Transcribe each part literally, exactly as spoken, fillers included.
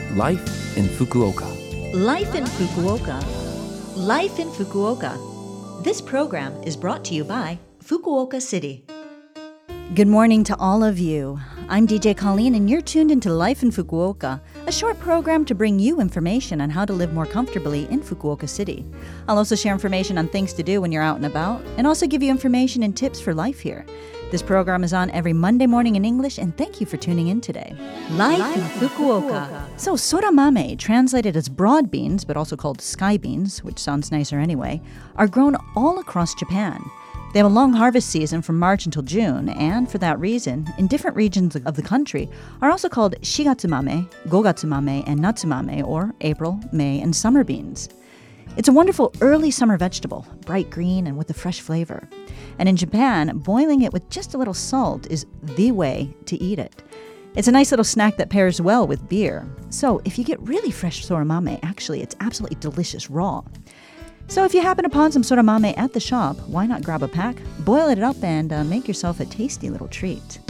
Life in Fukuoka. Life in Fukuoka. Life in Fukuoka. This program is brought to you by Fukuoka City. Good morning to all of you. I'm D J Colleen, and you're tuned into Life in Fukuoka, a short program to bring you information on how to live more comfortably in Fukuoka City. I'll also share information on things to do when you're out and about, and also give you information and tips for life here. This program is on every Monday morning in English, and thank you for tuning in today. Life, Life in Fukuoka. Fukuoka. So, soramame, translated as broad beans, but also called sky beans, which sounds nicer anyway, are grown all across Japan. They have a long harvest season from March until June, and for that reason, in different regions of the country, are also called shigatsumame, gogatsumame, and natsumame, or April, May, and summer beans. It's a wonderful early summer vegetable, bright green and with a fresh flavor. And in Japan, boiling it with just a little salt is the way to eat it. It's a nice little snack that pairs well with beer. So if you get really fresh soramame, actually, it's absolutely delicious raw. So if you happen upon some soramame at the shop, why not grab a pack, boil it up, and uh, make yourself a tasty little treat.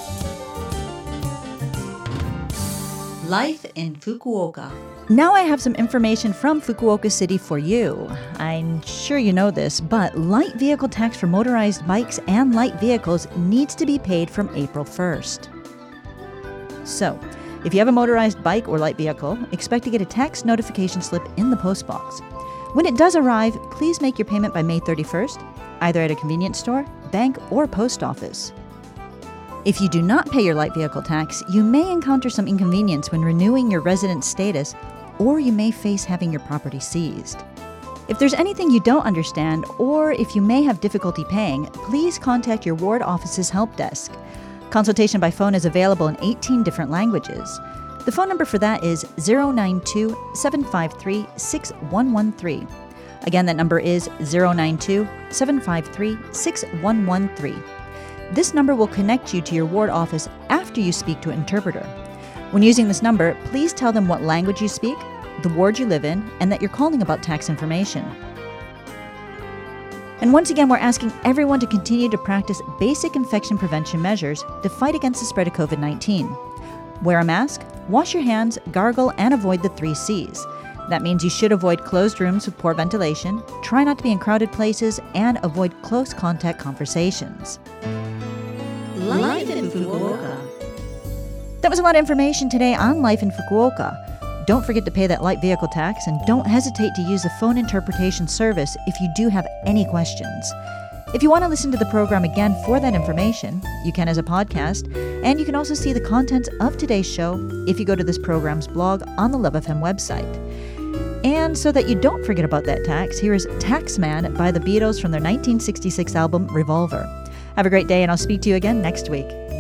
Life in Fukuoka. Now I have some information from Fukuoka City for you. I'm sure you know this, but light vehicle tax for motorized bikes and light vehicles needs to be paid from April first. So, if you have a motorized bike or light vehicle, expect to get a tax notification slip in the postbox. When it does arrive, please make your payment by May thirty-first, either at a convenience store, bank, or post office. If you do not pay your light vehicle tax, you may encounter some inconvenience when renewing your resident status, or you may face having your property seized. If there's anything you don't understand, or if you may have difficulty paying, please contact your ward office's help desk. Consultation by phone is available in eighteen different languages. The phone number for that is zero nine two, seven five three, six one one three. Again, that number is zero nine two, seven five three, six one one three. This number will connect you to your ward office after you speak to an interpreter. When using this number, please tell them what language you speak, the ward you live in, and that you're calling about tax information. And once again, we're asking everyone to continue to practice basic infection prevention measures to fight against the spread of covid nineteen. Wear a mask, wash your hands, gargle, and avoid the three C's. That means you should avoid closed rooms with poor ventilation, try not to be in crowded places, and avoid close contact conversations. Life in Fukuoka. That was a lot of information today on Life in Fukuoka. Don't forget to pay that light vehicle tax, and don't hesitate to use the phone interpretation service if you do have any questions. If you want to listen to the program again for that information, you can as a podcast, and you can also see the contents of today's show if you go to this program's blog on the Love F M website. And so that you don't forget about that tax, here is Taxman by the Beatles from their nineteen sixty-six album Revolver. Have a great day, and I'll speak to you again next week.